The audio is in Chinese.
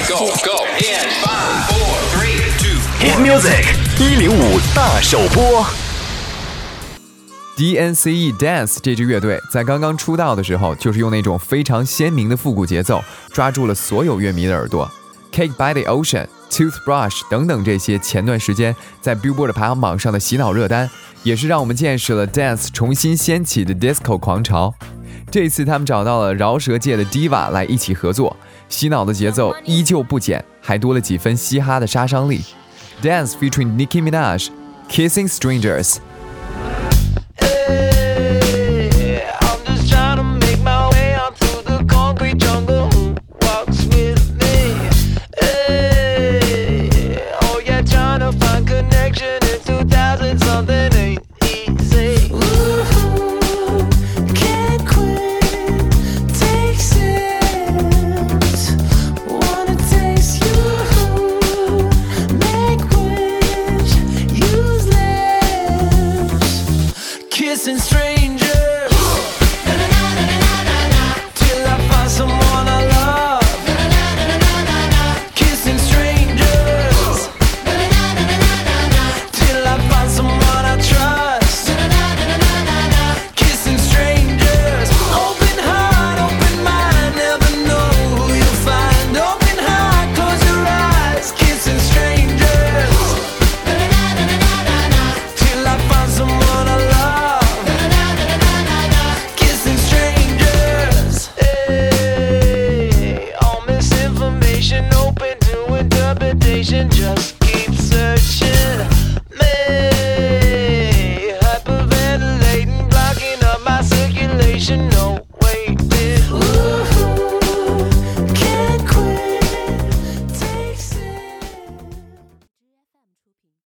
go, go. In 5, 4, 3, 2, Hit Music 105大首播。 DNCE Dance 这支乐队在刚刚出道的时候，就是用那种非常鲜明的复古节奏，抓住了所有乐迷的耳朵。Cake by the Ocean、Toothbrush 等等这些前段时间在 Billboard 排行榜上的洗脑热单，也是让我们见识了 Dance 重新掀起的 Disco 狂潮。这次他们找到了饶舌界的 Diva 来一起合作，洗脑的节奏依旧不减，还多了几分嘻哈的杀伤力。Dance featuring Nicki Minaj，Kissing Strangers。